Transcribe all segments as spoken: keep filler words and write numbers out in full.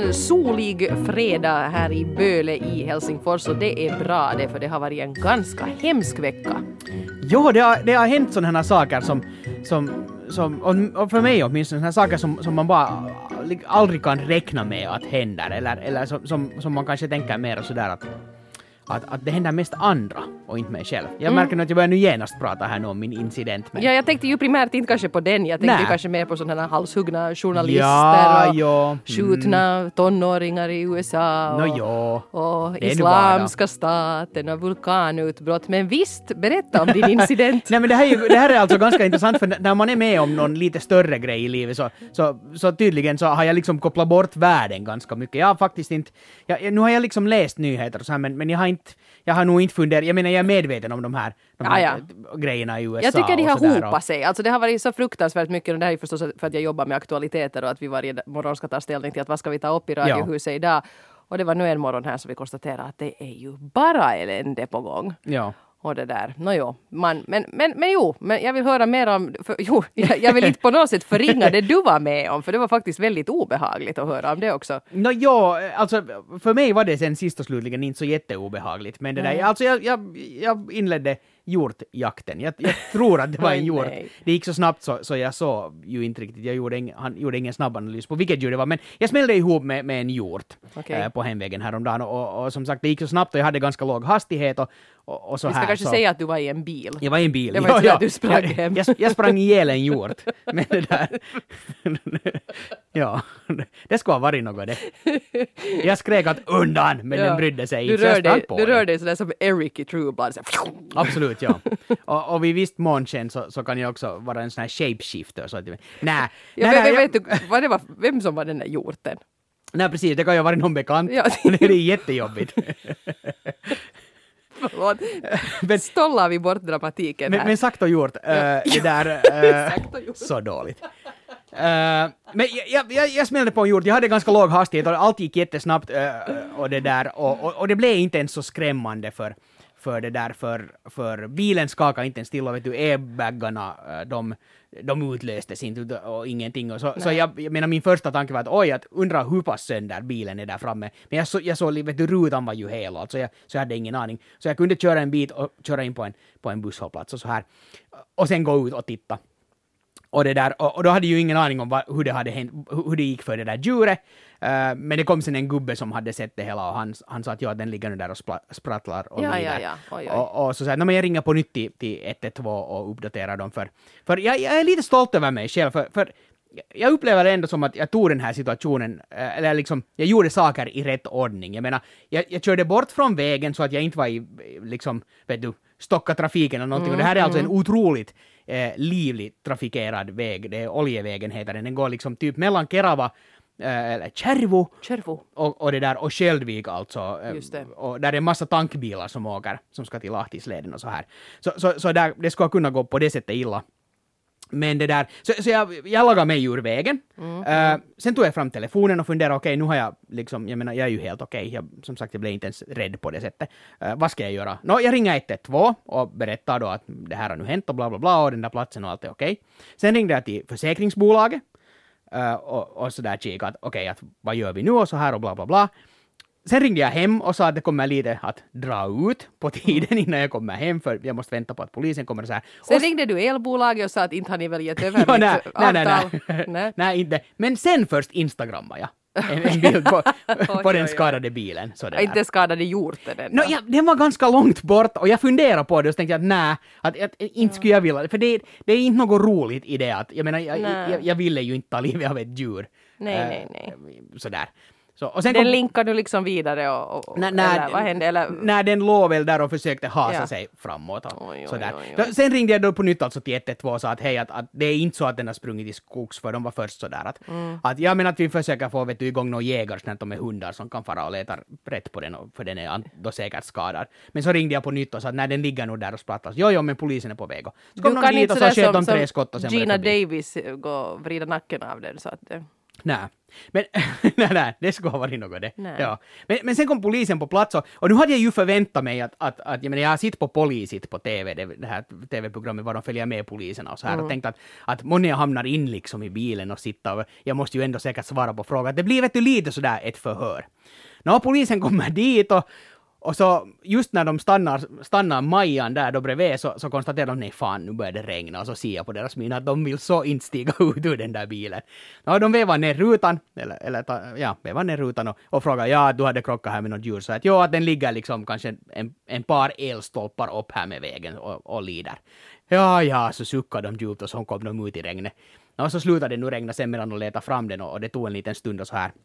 solig fredag här i Böle i Helsingfors och det är bra det, för det har varit en ganska hemsk vecka. Jo, det har, det har hänt sådana här saker som, som, som och för mig åtminstone sådana saker som, som man bara aldrig kan räkna med att händer, eller, eller som, som, som man kanske tänker mer sådär att Att, att det händer mest andra och inte mig själv. Jag märker mm. att jag börjar nu genast prata här nu om min incident. Men... Ja, jag tänkte ju primärt inte kanske på den. Jag tänkte Nä. ju kanske mer på sådana här halshuggna journalister ja, och jo. skjutna mm. tonåringar i U S A och, no, jo. och islamska staten och vulkanutbrott. Men visst, berätta om din incident. Nej, men det här, är ju, det här är alltså ganska intressant, för när man är med om någon lite större grej i livet så, så, så tydligen så har jag liksom kopplat bort världen ganska mycket. Jag har faktiskt inte... Jag, nu har jag liksom läst nyheter och så här, men, men jag har inte Jag har nog inte funderat, jag menar jag är medveten om de här, de här ja, ja. grejerna i U S A. Jag tycker de har hopat och... sig. Alltså det har varit så fruktansvärt mycket, och det här är förstås för att jag jobbar med aktualiteter och att vi varje morgon ska ta ställning till att vad ska vi ta upp i radiohuset ja. idag. Och det var nu en morgon här som vi konstaterade att det är ju bara elände på gång. Ja. Och det där. Nå jo, man, men, men, men jo, men jag vill höra mer om, för, jo, jag, jag vill inte på något sätt förringa det du var med om, för det var faktiskt väldigt obehagligt att höra om det också. Nå jo, alltså för mig var det sen sist och slutligen inte så jätteobehagligt, men det där, alltså jag, jag, jag inledde hjortjakten. Jag, jag tror att det var en hjort. Det gick så snabbt så, så jag såg ju inte riktigt. Jag gjorde, en, han gjorde ingen snabb analys på vilket djur det var. Men jag smällde ihop med, med en hjort okay. eh, på hemvägen häromdagen. Och, och, och som sagt, det gick så snabbt och jag hade ganska låg hastighet. Och, och, och så Vi ska här, kanske så... säga att du var i en bil. Jag var i en bil. Det var inte så att du sprang jag, hem. Jag, jag sprang ihjäl en hjort. Men det där... ja, det skulle ha varit något det. Jag skrek att undan, men ja. den brydde sig inte. Du rör dig, du rör dig sådär som Eric i True Blood. Så... Absolut, ja. Och, och vid visst månsken så, så kan jag också vara en sån här shapeshifter. Så att, nej, ja, nej, vem, nej, vet du vad det var, vem som var den där hjorten? Nej, precis. Det kan ju vara någon bekant. Ja. Det är jättejobbigt. Förlåt. Men, stollar vi bort dramatiken men, här. men sagt och gjort. Äh, det där... Äh, gjort. Så dåligt. Uh, men jag, jag, jag smällde på en hjort. Jag hade ganska låg hastighet och allt gick jättesnabbt uh, och det där. Och, och, och det blev inte ens så skrämmande för... för det där, för, för bilen skakade inte ens till och vet du, airbaggarna, de, de utlöstes inte och ingenting. Och så så jag, jag menar, min första tanke var att oj, att undra hur pass sönder bilen är där framme. Men jag, så, jag såg, vet du, rutan var ju hel, alltså jag, så jag hade ingen aning. Så jag kunde köra en bit och köra in på en, på en busshållplats och så här. Och sen gå ut och titta. Och, det där, och, och då hade ju ingen aning om vad, hur, det hade hänt, hur det gick för det där djuret. Uh, men det kom sen en gubbe som hade sett det hela och han, han sa att ja, den ligger nu där och spla, sprattlar och ja, lider. Ja, ja. Oj, oj. Och, och så sa jag, men jag ringer på nytt till, till ett ett två och uppdaterar dem. För, för jag, jag är lite stolt över mig själv. För, för jag upplever det ändå som att jag tog den här situationen, eller liksom, jag gjorde saker i rätt ordning. Jag menar, jag, jag körde bort från vägen så att jag inte var i, liksom, vet du, stocka trafiken eller någonting. Mm, och det här är alltså mm. en otroligt eh, livligt trafikerad väg. Det är Oljevägen heter den. Den går liksom typ mellan Kerava eller Kärvo och, och det där och Skäldvik alltså. Just det. Och där är en massa tankbilar som åker som ska till Lahtisleden och så här. Så, så, så där, det ska kunna gå på det sättet illa. Men det där, så, så jag, jag lagade mig ur vägen. Mm. Uh, sen tog jag fram telefonen och funderade, okej, okay, nu har jag liksom, jag menar, jag är ju helt okej. Okay. Jag, som sagt, jag blev inte ens rädd på det sättet. Uh, vad ska jag göra? Nå, jag ringer ett ett två och berättar då att det här har nu hänt och bla bla bla och den där platsen och allt är okej. Okay. Sen ringde jag till försäkringsbolaget. Uh, och, och så där kika att okej, okay, att vad gör vi nu och så här och bla bla bla. Sen ringde jag hem och sa att det kommer lite att dra ut på tiden innan jag kommer hem för jag måste vänta på att polisen kommer och så här. Sen och ringde du elbolaget och sa att inte har ni väl gett över ja, mitt nej, avtal? Nej, nej, nej. nej. nej, inte. Men sen först Instagrammade jag. En, en bild på, på den skadade bilen. Så det inte skadade hjorten. No, ja, den var ganska långt bort och jag funderade på det och så tänkte jag att nej, att, att, inte skulle jag vilja. För det, det är inte något roligt i det. Att, jag menar, jag, jag, jag ville ju inte ta livet av ett djur. Nej, uh, nej, nej. Sådär. Så, och sen den kom, linkar du liksom vidare och, och nä, nä, eller vad hände? Eller? Nej, den låg väl där och försökte hasa ja. sig framåt. Och oj, sådär. Oj, oj, oj. Sen ringde jag då på nytt alltså till ett ett två och sa att hej, att, att det är inte så att den har sprungit i skogs för de var först sådär. Att, mm. att jag menar att vi försöker få vet du, igång några jägare snart med hundar som kan fara och leta rätt på den och, för den är då säkert skadad. Men så ringde jag på nytt och sa att nej, den ligger nog där och sprattlas. Jo, jo, men polisen är på väg. Så kom de dit och så sköt de tre skott och sen Gina Davis gå och vrida nacken av den så att det... Nej. Men nej, nej, det skulle ha varit något det. Ja. Men, men sen kom polisen på plats och, och nu hade jag ju förväntat mig att, att, att jag, menar, jag har sitt på Polisit på T V, det, det här T V-programmet var de följer med poliserna och så här mm. och tänkt att, att många hamnar in liksom i bilen och sitter och jag måste ju ändå säkert svara på frågan. Det blir vet du lite sådär ett förhör. När polisen kommer dit och Och så just när de stannar, stannar Majan där då bredvid så, så konstaterar de nej fan nu börjar det regna och så ser jag på deras min att de vill så inte stiga ut ur den där bilen. Ja, de vevar ner rutan eller, eller ja, vevar ner rutan och, och frågar ja du hade krockat här med något djur så att ja att den ligger liksom kanske en, en par elstolpar upp här med vägen och, och lider. Ja ja så suckar de djupt och så kom de ut i regnet. Och så slutade det nu regna sen medan de letade fram den och, och det tog en liten stund och så här.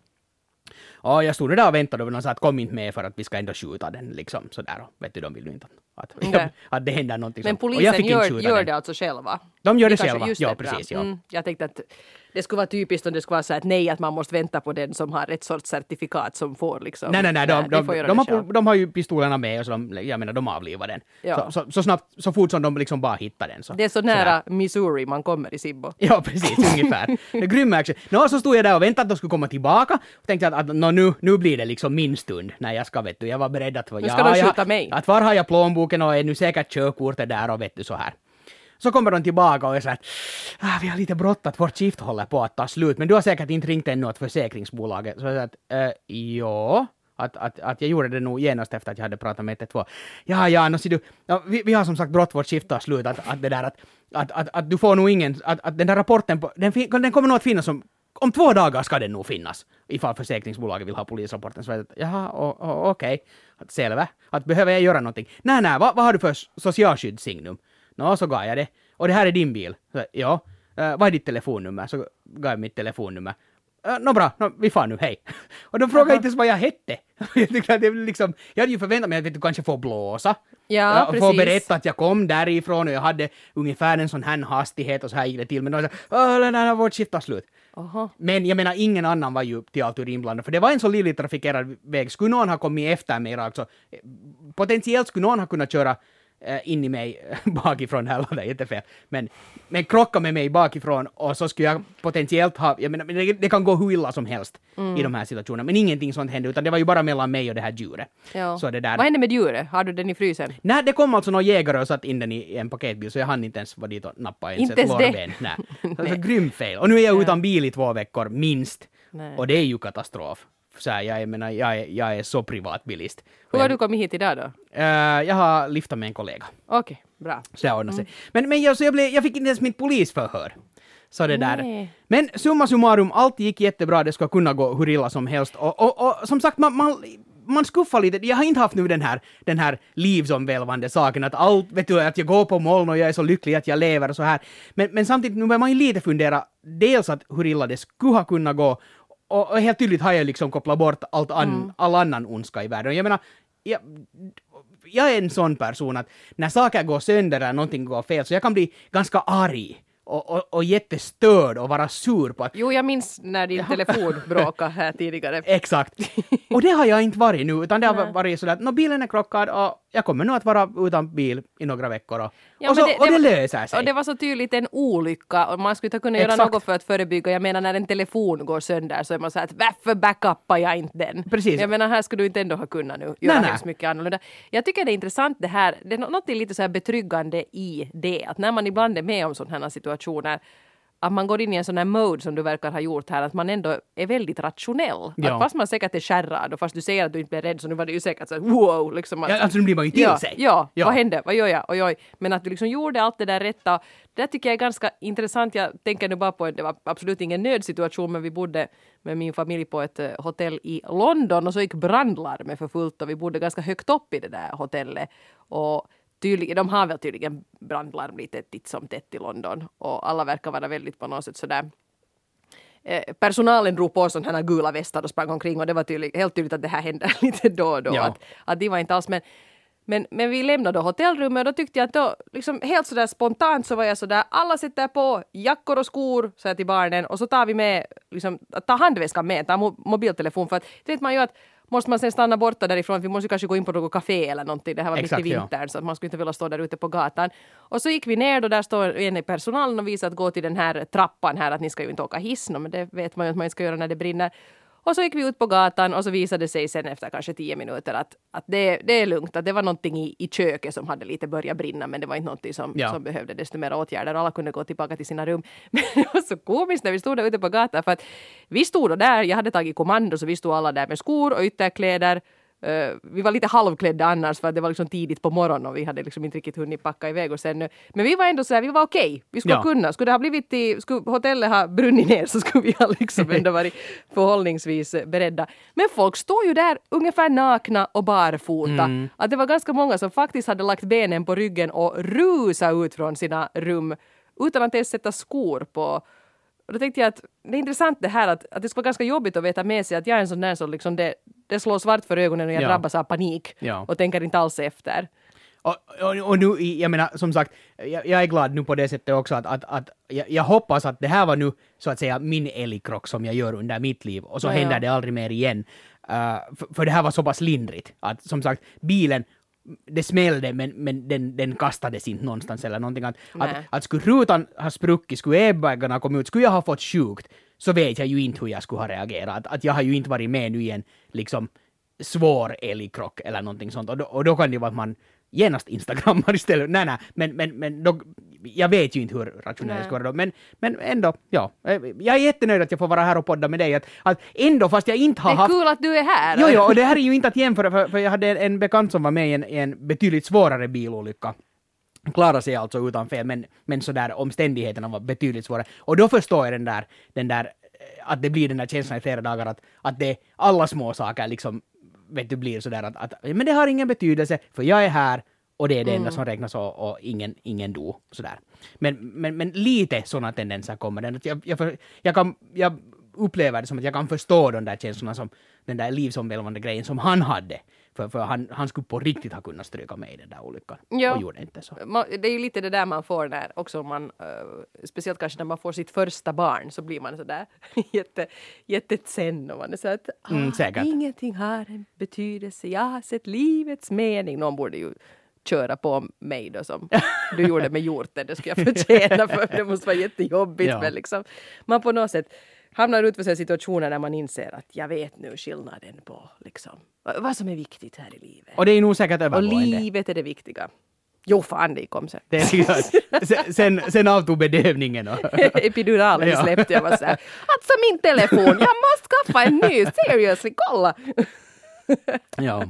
Ja, jag stod där och väntade och de sa att kom inte med för att vi ska ändå skjuta den liksom sådär och vet du, de vill ju inte att, okay. att det händer någonting. Men polisen gör, gör det alltså själva? De gör det, det själva, ja precis. Ja. Mm, jag tänkte att det skulle vara typiskt om det skulle vara så att nej att man måste vänta på den som har ett sorts certifikat som får liksom. Nej, nej, nej, de, nej, de, de, de, har, de har ju pistolerna med och så de, jag menar de avlivar den. Ja. Så, så, så snabbt, så fort som de liksom bara hittar den. Så, det är så nära sådär. Missouri man kommer i Sibbo. Ja, precis, ungefär. Det grymma action. Nå, så stod jag där och väntade att de skulle komma tillbaka och tänkte att, att nå, nu, nu blir det liksom min stund när jag ska, vet du, jag var beredd att... Nu ska ja, de skjuta jag, mig. Att var har jag plånboken och är nu säkert körkortet där och vet du så här. Så kommer de tillbaka och är så att ah, vi har lite brått att vårt skift håller på att ta slut, men du har säkert inte ringt ännu åt försäkringsbolaget. Så jag sa att äh, ja, att, att, att jag gjorde det nog genast efter att jag hade pratat med ett ett två. Ja, ja, no, du, ja vi, vi har som sagt brått vårt skift tar slut, att, att det där att, att, att, att du får nog ingen, att, att den där rapporten, på, den, den kommer nog att finnas som om två dagar ska den nog finnas, ifall försäkringsbolaget vill ha polisrapporten. Så jag att, jaha, okej, okay. Att selvä, att behöver jag göra någonting? Nej, nej, vad, vad har du för socialskyddssignum? Nå, så gav jag det. Och det här är din bil. Så, ja. Uh, vad är ditt telefonnummer? Så gav jag mitt telefonnummer. Uh, Nå bra, no, vi far nu, hej. Och de frågade inte ens vad jag hette. jag, tyckte att det liksom, jag hade ju förväntat mig att du kanske får blåsa. Ja, uh, precis. Få berätta att jag kom därifrån och jag hade ungefär en sån här hastighet och så här gick det till. Men de sa, åh, nej, nej, vårt skift tar slut. Aha. Men jag menar, ingen annan var ju till allt inblandad. För det var en så livligt trafikerad väg. Skulle någon ha kommit efter mig alltså, potentiellt skulle någon ha kunnat köra in i mig bakifrån, här var det jättefel. Men, men krocka med mig bakifrån och så skulle jag potentiellt ha, jag menar, det, det kan gå hur illa som helst mm. i de här situationerna. Men ingenting sånt hände, utan det var ju bara mellan mig och det här djuret. Ja. Så det där... Vad hände med djuret? Har du den i frysen? Nej, det kom alltså någon jägare och satt in den i en paketbil, så jag hann inte ens vara dit och nappa ens inte ett lårben. Nej. Alltså grym fel. Och nu är jag utan bil i två veckor, minst. Nej. Och det är ju katastrof. Så här, jag, menar, jag, är, jag är så privatbilist. Hur har jag, du kommit hit idag då? Uh, jag har liftat med en kollega. Okej, okay, bra. Så jag ordnade sig. Mm. Men, men jag, så jag, blev, jag fick inte ens mitt polisförhör. Så det där. Men summa summarum, allt gick jättebra. Det ska kunna gå hur illa som helst. Och, och, och som sagt, man, man, man skuffar lite. Jag har inte haft nu den här, den här livsomvälvande saken. Att allt, vet du, att jag går på moln och jag är så lycklig att jag lever och så här. Men, men samtidigt, nu börjar man ju lite fundera. Dels att hur illa det skulle ha kunnat gå. Och, och helt tydligt har jag liksom kopplat bort allt an, mm. all annan ondska i världen. Jag menar, jag, jag är en sån person att när saker går sönder eller någonting går fel så jag kan bli ganska arg. Och, och, och jättestörd och vara sur på att... Jo, jag minns när din telefon bråkade här tidigare. Exakt. Och det har jag inte varit nu, utan det har varit sådär att no, bilen är krockad och jag kommer nog att vara utan bil i några veckor. Och, ja, och, så, det, och det, det löser sig. Och det var så tydligt en olycka och man skulle inte kunna göra Exakt. något för att förebygga. Jag menar, när en telefon går sönder så är man så här att varför backuppar jag inte den? Precis. Jag menar, här skulle du inte ändå ha kunnat nu göra nej, hemskt nej. mycket annorlunda. Jag tycker det är intressant det här. Det är något lite så här betryggande i det. Att när man ibland är med om sådana här situationer att man går in i en sån här mode som du verkar ha gjort här, att man ändå är väldigt rationell. Ja. Att fast man säkert är skärrad och fast du säger att du inte blir rädd så nu var det ju säkert så här, wow. Liksom att, ja, alltså nu blir man ju till ja, sig. Ja, ja, vad hände? Vad gör jag? Oj, oj. Men att du liksom gjorde allt det där rätta. Det tycker jag är ganska intressant. Jag tänker nu bara på att det var absolut ingen nödsituation, men vi bodde med min familj på ett hotell i London och så gick brandlarmet för fullt och vi bodde ganska högt upp i det där hotellet. Och tydligen, de har väl tydligen brandlarm lite titt som tätt i London och alla verkar vara väldigt på något sätt sådär. Eh, personalen drog på sådana här gula västar och sprang omkring och det var tydlig, helt tydligt att det här hände lite då och då. Ja. Att, att det var inte alls, men, men, men vi lämnade hotellrummet och då tyckte jag att då, liksom helt sådär spontant så var jag sådär, alla sätter på jackor och skor, så jag till barnen och så tar vi med, liksom, tar handväskan med, tar mo- mobiltelefon för att vet man ju att måste man sen stanna borta därifrån. Vi måste kanske gå in på något café eller någonting. Det här var Exakt, mitt i vintern, ja. Så man skulle inte vilja stå där ute på gatan. Och så gick vi ner och där står en i personalen och visade att gå till den här trappan här, att ni ska ju inte åka hiss, men det vet man ju att man inte ska göra när det brinner. Och så gick vi ut på gatan och så visade det sig sen efter kanske tio minuter att, att det, det är lugnt. Att det var någonting i, i köket som hade lite börjat brinna, men det var inte någonting som, ja. som behövde desto mer åtgärder. Alla kunde gå tillbaka till sina rum. Men det var så komiskt när vi stod där ute på gatan, för att vi stod där, jag hade tagit kommando, så vi stod alla där med skor och ytterkläder. Uh, vi var lite halvklädda annars för att det var liksom tidigt på morgonen och vi hade liksom inte riktigt hunnit packa iväg och sen. Men vi var ändå så här, vi var okej. Okay. Vi skulle ja. kunna. Skulle det ha blivit i, skulle hotellet ha brunnit ner så skulle vi ha liksom ändå varit förhållningsvis beredda. Men folk stod ju där ungefär nakna och barfota. Mm. Att det var ganska många som faktiskt hade lagt benen på ryggen och rusat ut från sina rum utan att ens sätta skor på. Och då tänkte jag att det är intressant det här att, att det ska vara ganska jobbigt att veta med sig att jag är en sån där som liksom det, det slår svart för ögonen och jag ja. drabbas av panik ja. och tänker inte alls efter. Och, och, och nu, jag menar, som sagt, jag, jag är glad nu på det sättet också att, att, att jag, jag hoppas att det här var nu så att säga min älgkrock som jag gör under mitt liv och så ja, händer ja. det aldrig mer igen. Uh, för, för det här var så pass lindrigt att som sagt, bilen det smällde men, men den, den kastades inte någonstans eller någonting. Att, att, att skulle rutan ha spruckit, skulle airbagarna komma ut, skulle jag ha fått sjukt så vet jag ju inte hur jag skulle ha reagerat. Att, att jag har ju inte varit med nu i en liksom svår älgkrock eller någonting sånt. Och då, och då kan det vara att man genast instagrammar istället. Nej, nej, men, men, men då, jag vet ju inte hur rationellt det ska vara då. Men, men ändå, ja. Jag är jättenöjd att jag får vara här och podda med dig. Att, att ändå, fast jag inte har haft... Det är kul att du är här. Jo, jo, och det här är ju inte att jämföra, för, för jag hade en, en bekant som var med i en, en betydligt svårare bilolycka. Klarade sig alltså utan fel, men, men så där omständigheterna var betydligt svårare. Och då förstår jag den där, den där att det blir den där känslan i flera dagar att, att det alla små saker liksom vet du blir sådär att, att men det har ingen betydelse för jag är här och det är det enda mm. som räknas och, och ingen, ingen do sådär. Men, men, men lite sådana tendenser kommer den. Att jag, jag, jag, kan, jag upplever det som att jag kan förstå de där känslorna som den där livsomvälvande grejen som han hade. För, för han, han skulle på riktigt ha kunnat stryka med i den där olyckan. Ja. Och gjorde inte så. Det är ju lite det där man får när också man, uh, speciellt kanske när man får sitt första barn så blir man sådär jätte, jättetsen och man är så att ah, mm, ingenting har en betydelse. Jag har sett livets mening. Någon borde ju köra på mig då som du gjorde med hjorten. Det skulle jag förtjäna för det måste vara jättejobbigt. Ja. Men liksom, man på något sätt hamnar ut för sig situationer när man inser att jag vet nu skillnaden på liksom, vad som är viktigt här i livet. Och det är nog säkert övergående. Och livet är det viktiga. Jo, fan, det kom sen. Det är sen, sen, sen avtog bedövningen. Och epiduralen ja. släppte jag. Var så här, alltså min telefon, jag måste skaffa en ny. Seriously, kolla. ja.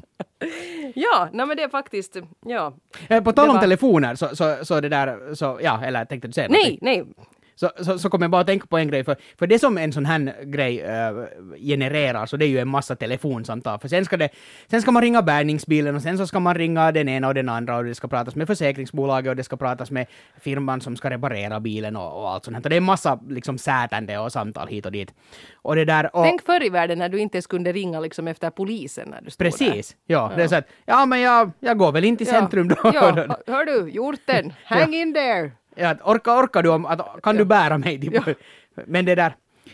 Ja, nej, men det är faktiskt, ja. På tal om var... telefoner, så, så, så det där, så, ja, eller tänkte du säga Nej, nej. Så, så, så kommer jag bara att tänka på en grej, för, för det som en sån här grej äh, genererar, så det är ju en massa telefonsamtal, för sen ska, det, sen ska man ringa bärgningsbilen och sen så ska man ringa den ena och den andra och det ska pratas med försäkringsbolaget och det ska pratas med firman som ska reparera bilen och, och allt sånt här. Det är en massa liksom sätande och samtal hit och dit. Och det där, och, tänk förr i världen när du inte ens kunde ringa liksom efter polisen när du stod precis, där. Ja, ja. Det är så att, ja men jag, jag går väl in till ja. centrum då. Ja, hör du, hjorten, hang in there. Ja, orkar, orkar du om, att, kan du bära mig? Typ. Ja. Men det där,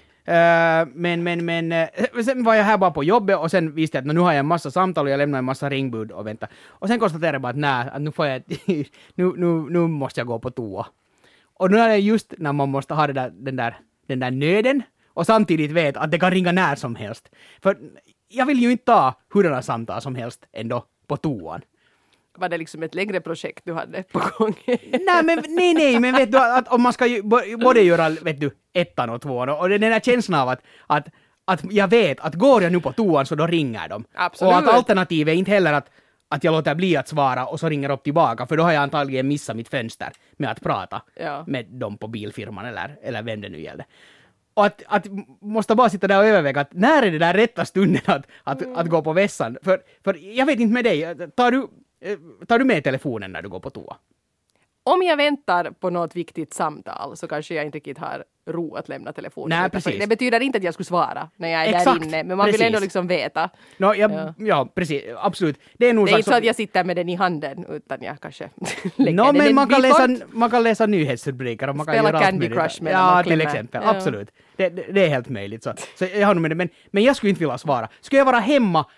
uh, men, men, men, uh, sen var jag här bara på jobbet och sen visste jag att nu har jag en massa samtal och jag lämnar en massa ringbud och vänta. Och sen konstaterade jag bara att nej, att nu får jag, nu, nu, nu måste jag gå på toa. Och nu är det just när man måste ha det där, den, där, den där nöden och samtidigt vet att det kan ringa när som helst. För jag vill ju inte ta hurdana samtal som helst ändå på toan. Var det liksom ett längre projekt du hade på gång? nej, men, nej, nej, men vet du att om man ska ju både göra, vet du, ettan och tvåan och den där känslan av att, att, att jag vet att går jag nu på toan så då ringer de. Absolut. Och att alternativet är inte heller att, att jag låter bli att svara och så ringer upp tillbaka, för då har jag antagligen missat mitt fönster med att prata ja. med dem på bilfirman eller, eller vem det nu gäller. Och att, att måste bara sitta där och överväga att när är det där rätta stunden att, att, mm. att gå på vässan? För, för jag vet inte med dig, tar du Tar du med telefonen när du går på toa? Om jag väntar på något viktigt samtal så kanske jag inte riktigt har ro att lämna telefonen. Nej, precis. Det betyder inte att jag skulle svara när jag är Exakt, där inne. Men man precis. vill ändå liksom veta. No, jag, ja. ja, precis. Absolut. Det är, nog det är inte så att jag sitter med den i handen utan jag kanske lägger no, den men man kan, läsa, bort. man kan läsa nyhetsrubriker och man spela kan göra Candy allt Crush med ja, till exempel. Ja. Absolut. Det, det, det är helt möjligt. Så, så jag har nog med det. Men, men jag skulle inte vilja svara. Skulle jag vara hemma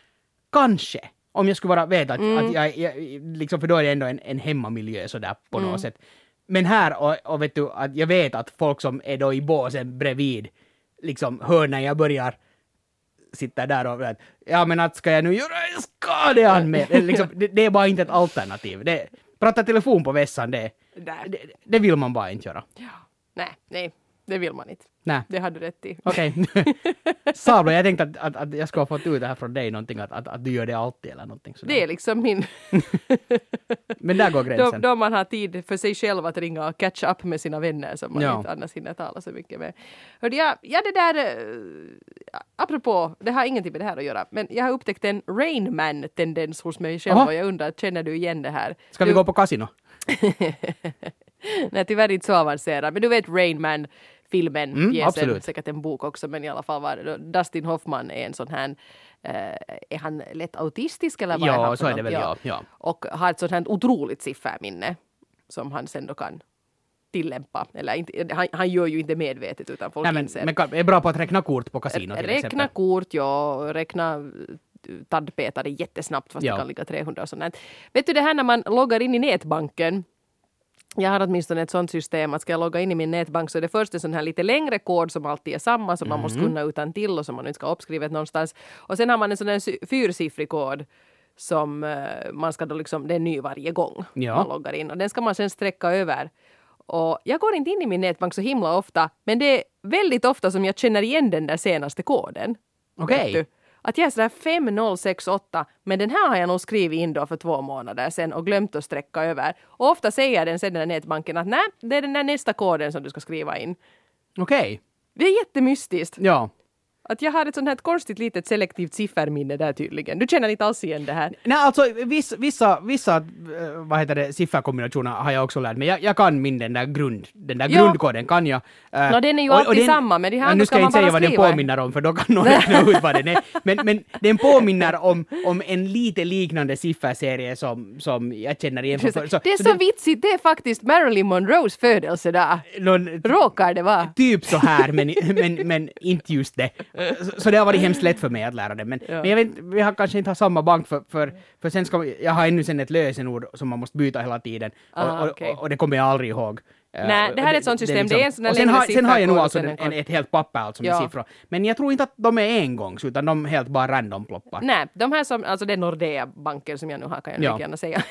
kanske, om jag skulle vara veta att, Mm. att jag, jag liksom, för då är det ändå en, en hemmamiljö sådär på Mm. något sätt. Men här, och, och vet du, att jag vet att folk som är då i båsen bredvid, liksom hör när jag börjar sitta där och att, ja men att ska jag nu göra en skadeanmälan? liksom, det, det är bara inte ett alternativ. Det, prata telefon på vässan, det, det, det vill man bara inte göra. Ja. Nej, nej, det vill man inte. Nej. Det hade du rätt i. Okej. Okay. Sabla, jag tänkte att, att, att jag skulle ha fått ut det här från dig någonting, att, att, att du gör det alltid eller någonting sådär. Det är liksom min... Men där går då, gränsen. då man har tid för sig själv att ringa och catch up med sina vänner som man Ja. inte annars hinner tala så mycket med. Hörde jag, ja det där, äh, apropå, det har ingenting med det här att göra, men jag har upptäckt en Rain Man-tendens hos mig själv. Aha. Och jag undrar, känner du igen det här? Ska vi du... gå på kasino? Nej, tyvärr inte så avancerad. Men du vet Rain Man, filmen, Mm, pjäsen, absolut. säkert en bok också, men i alla fall var det. Dustin Hoffman är en sån här, eh, är han lätt autistisk eller vad Ja, är han så för är det något? väl, ja, ja. Och har ett sånt här otroligt sifferminne som han sen då kan tillämpa. Eller inte, han, han gör ju inte medvetet utan folk Nej, men, inser. men kan- är bra på att räkna kort på kasino till Räkna exempel. kort, ja. Räkna tandpetare jättesnabbt fast Ja. det kan ligga trehundra och sånt här. Vet du det här när man loggar in i nätbanken? Jag har åtminstone ett sånt system att ska jag logga in i min nätbank så är det först en sån här lite längre kod som alltid är samma som man Mm. måste kunna utan till och som man inte ska ha uppskrivet någonstans. Och sen har man en sån här sy- fyrsiffrig kod som uh, man ska då liksom, det är ny varje gång Ja. man loggar in och den ska man sen sträcka över. Och jag går inte in i min nätbank så himla ofta men det är väldigt ofta som jag känner igen den där senaste koden. Okej. Vet du? Att jag är sådär fem noll sex åtta, men den här har jag nog skrivit in då för två månader sedan och glömt att sträcka över. Och ofta säger den sen den där nätbanken att nej, det är den där nästa koden som du ska skriva in. Okej. Det är jättemystiskt. Ja. Att jag har ett sånt här konstigt litet selektivt sifferminne där tydligen. Du känner inte alls igen det här. Nej, alltså vissa, vissa, vissa äh, vad heter det, sifferkombinationer har jag också lärt mig. Jag, jag kan min den där grund, den där Ja. grundkoden kan jag. Äh, Nå, den är ju och- och alltid den- samma, men det här ja, då nu ska ska jag man inte säga bara vad den skriva. påminner om, för då kan någon räkna ut vad den är. Men, men den påminner om, om en lite liknande sifferserie som, som jag känner igen. Från, Det är så, den- vitsigt, det är faktiskt Marilyn Monroes födelse där. någon, Råkar det vara? Typ så här, men, men, men inte just det. Så, så det har varit hemskt lätt för mig att lära det. Men, Ja. men jag vet, vi har kanske inte har samma bank för, för, för sen ska vi, jag har ännu sen ett lösenord som man måste byta hela tiden. Och, Ah, och, okej. och, och det kommer jag aldrig ihåg. Eh, Nej, och det här är ett sånt system. Det är en sån här och sen längre har, sen har jag nog sifferkod alltså och sen en, en en, kod. ett helt papper alltså med Ja. siffror. Men jag tror inte att de är engångs, utan de helt bara random ploppar. Nej, de här som, alltså det är Nordea-banken som jag nu har kan jag Ja. ja. gärna säga.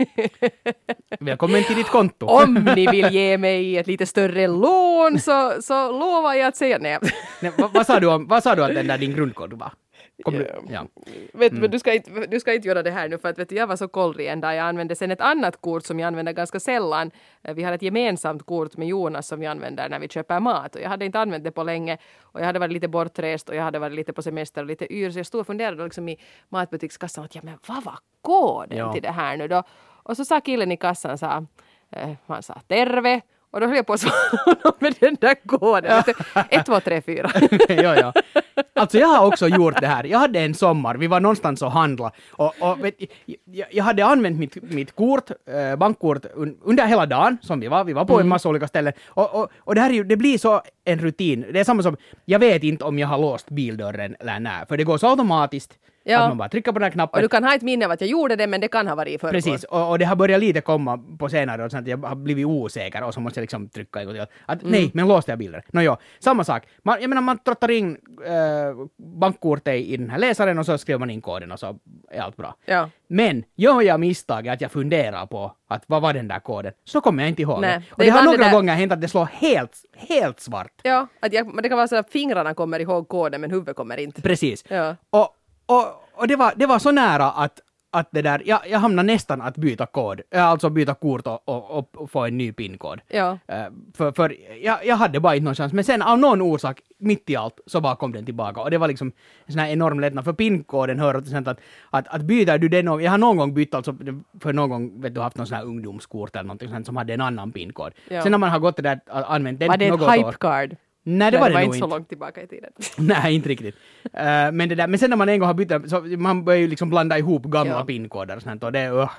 Välkommen till ditt konto. Om ni vill ge mig ett lite större lån så, så lovar jag att säga nej. Nej, vad, vad, sa du om, vad sa du att den där din grundkod var? Kom du, Ja. ja. Vet, men du, ska inte, du ska inte göra det här nu för att vet du, jag var så kollrig en dag. Jag använde sen ett annat kort som jag använder ganska sällan. Eh, Vi har ett gemensamt kort med Jonas som vi använder när vi köper mat. Och jag hade inte använt det på länge. Och jag hade varit lite bortrest och jag hade varit lite på semester och lite yr. Så jag stod och funderade liksom i matbutikskassan att ja, men vad var koden Ja. till det här nu då? Och så sa killen i kassan, sa, eh, han sa terve. Och då höll jag på att svara honom med den där koden. ett, två, tre, fyra. ja, ja. Alltså jag har också gjort det här. Jag hade en sommar, vi var någonstans och handla och, och vet, jag, jag hade använt mitt, mitt kort, eh, bankkort un, under hela dagen som vi var. Vi var på Mm. en massa olika ställen och, och, och det här är ju, det blir så en rutin. Det är samma som, jag vet inte om jag har låst bildörren eller nej, för det går så automatiskt Ja. att man bara trycker på den här knappen. Och du kan ha ett minne av att jag gjorde det men det kan ha varit i förrgår. Precis, och, och det har börjat lite komma på senare och sånt att jag har blivit osäker och så måste jag liksom trycka en gång till. Att Mm. nej, men låste jag bilder? Nå ja, samma sak. Man, jag menar man trottar in äh, bankkortet i den här läsaren och så skriver man in koden och så är allt bra. Ja. Men gör jag misstaget att jag funderar på att vad var den där koden, så kommer jag inte ihåg Nej, det. Och det det, är har ibland några det där- gånger hänt att det slår helt, helt svart. Ja, att jag, men det kan vara så att fingrarna kommer ihåg koden men huvudet kommer inte. Precis. Ja. Och, och, och det, var, det var så nära att, att det där, jag, jag hamnade nästan att byta kod, äh, alltså byta kort och, och, och, och få en ny pinkod. Ja. Uh, för för jag, jag hade bara inte någon chans, men sen av någon orsak, mitt i allt, så bara kom den tillbaka. Och det var liksom en sån här enorm lättnad, för pinkoden hör till exempel att, att, att byter du den, och jag har någon gång bytt, alltså för någon gång, vet du, haft någon sån här ungdomskort eller någonting sånt som hade en annan pinkod. Ja. Sen när man har gått det där, använt den Var det ett något år. hypecard? Nej, det var det, var nog inte så inte. långt tillbaka i tiden. Nej, inte riktigt. Uh, men, det där, men sen när man en gång har bytt, så man börjar ju liksom blanda ihop gamla Ja. pinkoder och sånt, och det, uh,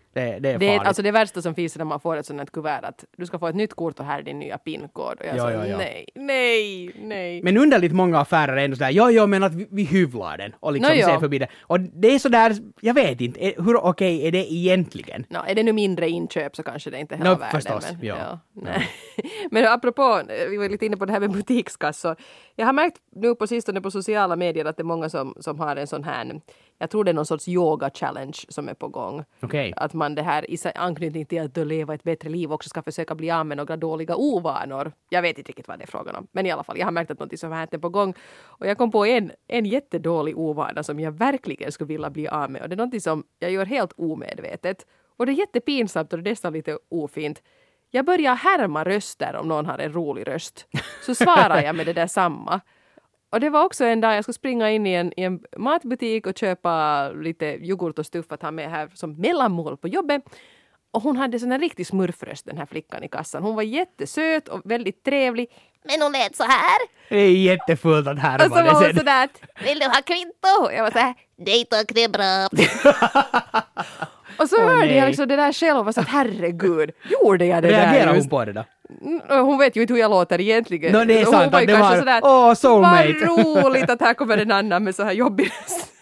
Det, det är det, är, farligt. alltså det värsta som finns är när man får ett sånt här kuvert att du ska få ett nytt kort och här är din nya pinkod. Och jag Ja, sa ja, ja. nej, nej, nej. Men underligt många affärer är ändå sådär, ja, ja, men att vi, vi hyvlar den och liksom No, ser ja. förbi det. Och det är sådär, jag vet inte, är- hur okej okay är det egentligen? No, är det nu mindre inköp så kanske det inte är hela No, världen. förstås, men, ja. nej. Men apropå, vi var lite inne på det här med butikskassor. Jag har märkt nu på sistone på sociala medier att det är många som, som har en sån här, jag tror det är någon sorts yoga-challenge som är på gång. Okej. Att man det här i anknytning till att leva ett bättre liv också ska försöka bli av med några dåliga ovanor. Jag vet inte riktigt vad det är frågan om. Men i alla fall, jag har märkt att något som här är på gång. Och jag kom på en, en jättedålig ovana som jag verkligen skulle vilja bli av med. Och det är något som jag gör helt omedvetet. Och det är jättepinsamt och det är nästan lite ofint. Jag börjar härma röster om någon har en rolig röst. Så svarar jag med det där samma. Och det var också en dag jag skulle springa in i en, i en matbutik och köpa lite yoghurt och stuff att ha med här som mellanmål på jobbet. Och hon hade sån här riktig smurfröst, den här flickan i kassan. Hon var jättesöt och väldigt trevlig. Men hon lät så här. Det är jättefullt att härma Och så var det hon sen. sådär, vill du ha kvitto? Jag var så här, nej tack, det är bra. Och så Åh, hörde nej. jag liksom det där själv och var så att herregud, gjorde jag det där Reagerar hon just? på det då? Mm, Hon vet ju inte hur jag låter egentligen. No, det är Hon sant, var ju att det kanske var- sådär, åh, soulmate. vad roligt att här kommer en annan med så här jobbig röst.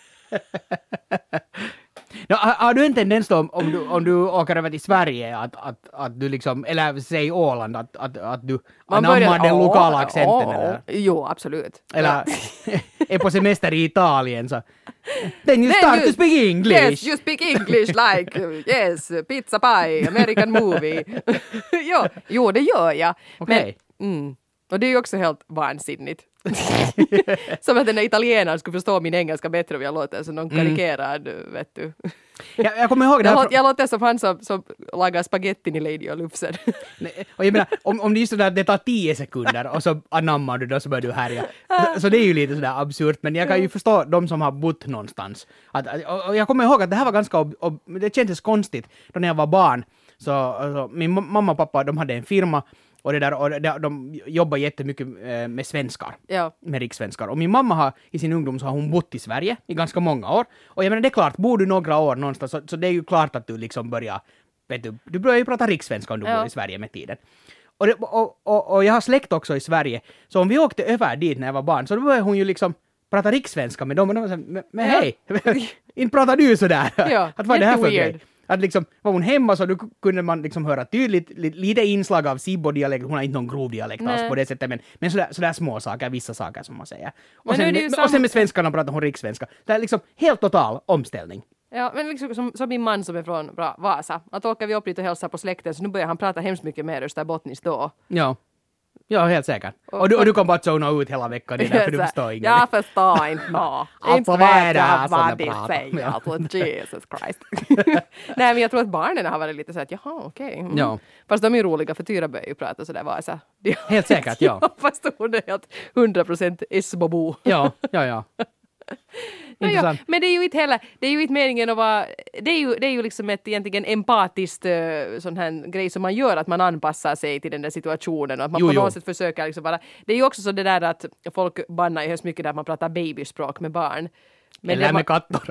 No, har, har du en tendens då om, om, du, om du åker över till Sverige att, att, att du liksom, eller säg Åland, att, att, att du Man anammar börjar- den Åh, lokala accenten åh, eller, Jo, absolut. eller är på semester i Italien så then you Then start you- to speak English. Yes, you speak English like, yes, pizza pie, American movie. jo, jo, det gör jag. Okej. Men, mm, och det är ju också helt vansinnigt. Som att den där italienaren skulle förstå min engelska bättre om jag låter som någon karikerad, vet du. Jag, jag kommer ihåg det Jag, här. låter, jag låter som han som, som lagar spagettin i Lady och Lufsen. Nej, och jag menar, om, om det är sådär att det tar tio sekunder och så anammar du då så börjar du härja. Så, så det är ju lite sådär absurt, men jag kan ju förstå de som har bott någonstans. Att, och, och jag kommer ihåg att det här var ganska, ob, ob, det kändes konstigt då när jag var barn. Så alltså, min mamma och pappa, de hade en firma och, det där, och de, de jobbar jättemycket eh, med svenskar. Ja. Med rikssvenskar. Och min mamma har i sin ungdom så har hon bott i Sverige i ganska många år. Och jag menar det är klart, bor du några år någonstans så, så det är ju klart att du liksom börjar, vet du, du börjar ju prata rikssvenska om du Ja. bor i Sverige med tiden. Och, det, och, och, och jag har släkt också i Sverige, så om vi åkte över dit när jag var barn så då började hon ju liksom prata rikssvenska med dem och de var så här, men, men Ja. hej, inte pratar du sådär? Ja, att vad är det här för jätteweird. grej? Att liksom, var hon hemma så då kunde man liksom höra tydligt, li, lite inslag av Sibbo-dialekt, hon har inte någon grov dialekt alls Nej. på det sättet, men, men sådär, sådär små saker, vissa saker som man säger. Och Men nu sen, är det ju med, sam- och sen med svenskarna pratar hon rikssvenska. Det är liksom helt total omställning. Ja, men liksom som, som min man som är från bra, Vasa. Att åker vi upp dit och hälsar på släkten så nu börjar han prata hemskt mycket mer österbottniskt då. Ja. Ja, helt säkert. Och- Och du, och du kan bara zona ut hela veckan, det är därför du Så här, förstår inget. Jag förstår inte nå. Alltså, Inte vad är vet det här jag som vad det de pratar om? säger. Ja. Alltså, Jesus Christ. Nej, men jag tror att barnen har varit lite så att jaha, okej. Mm. Ja. Fast de är ju roliga för Tyra börjar ju prata sådär Vasa. Helt säkert, ja. Fast hon är helt hundra procent Esbobo. Ja, ja, ja. No, ja, Intressant. men det är ju inte heller, det är ju inte meningen att vara, det är ju, det är ju liksom ett egentligen empatiskt uh, sån här grej som man gör, att man anpassar sig till den där situationen och att man Jo, på jo. något sätt försöker liksom bara, det är ju också så det där att folk bannar ju hemskt mycket där man pratar babyspråk med barn. Men Eller det med var- katter.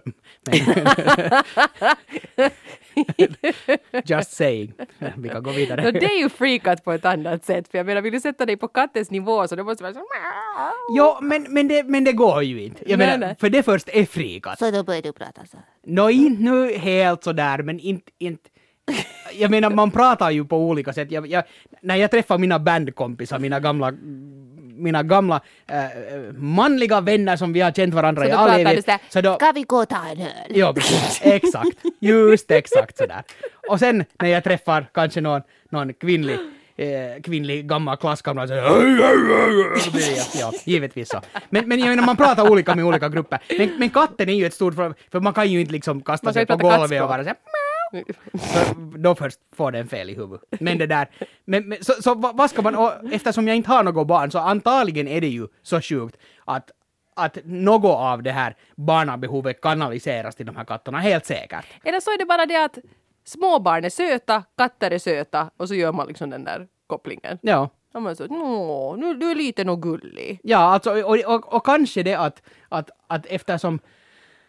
Men- Just saying. Vi kan gå vidare. No, det är ju freakat på ett annat sätt, för jag menar, vill du sätta dig på kattens nivå så det måste vara så Jo, men, men, det, men det går ju inte. Jag Nej, menar, nej. för det först är frikat. Så då börjar du prata så. Nå, inte nu helt sådär, men inte... inte jag menar, man pratar ju på olika sätt. Jag, jag, när jag träffar mina bandkompisar, mina gamla, mina gamla äh, manliga vänner som vi har känt varandra Så i då all pratar du evighet, sådär, så då... Ska vi gå och ta en öl? Ja, precis. Exakt. Just exakt sådär. Och sen när jag träffar kanske någon, någon kvinnlig, eh, kvinnlig gammal klasskamrat så ja, givetvis så. Men, men jag menar, man pratar olika med olika grupper. Men, men katten är ju ett stort problem, för man kan ju inte liksom kasta Man kan sig ju på prata golvet och kattspråk. vara så här, så då först får den fel i huvudet. Men det där, men, men, så, så vad vad ska man, och eftersom jag inte har något barn så antagligen är det ju så sjukt att att något av det här barnabehovet kanaliseras till de här katterna, helt säkert. Eller så är det bara det att småbarn är söta, katter är söta och så gör man liksom den där kopplingen. Ja. Och man så, nå, nu du är lite nog gullig. Ja, alltså, och, och, och kanske det att, att, att eftersom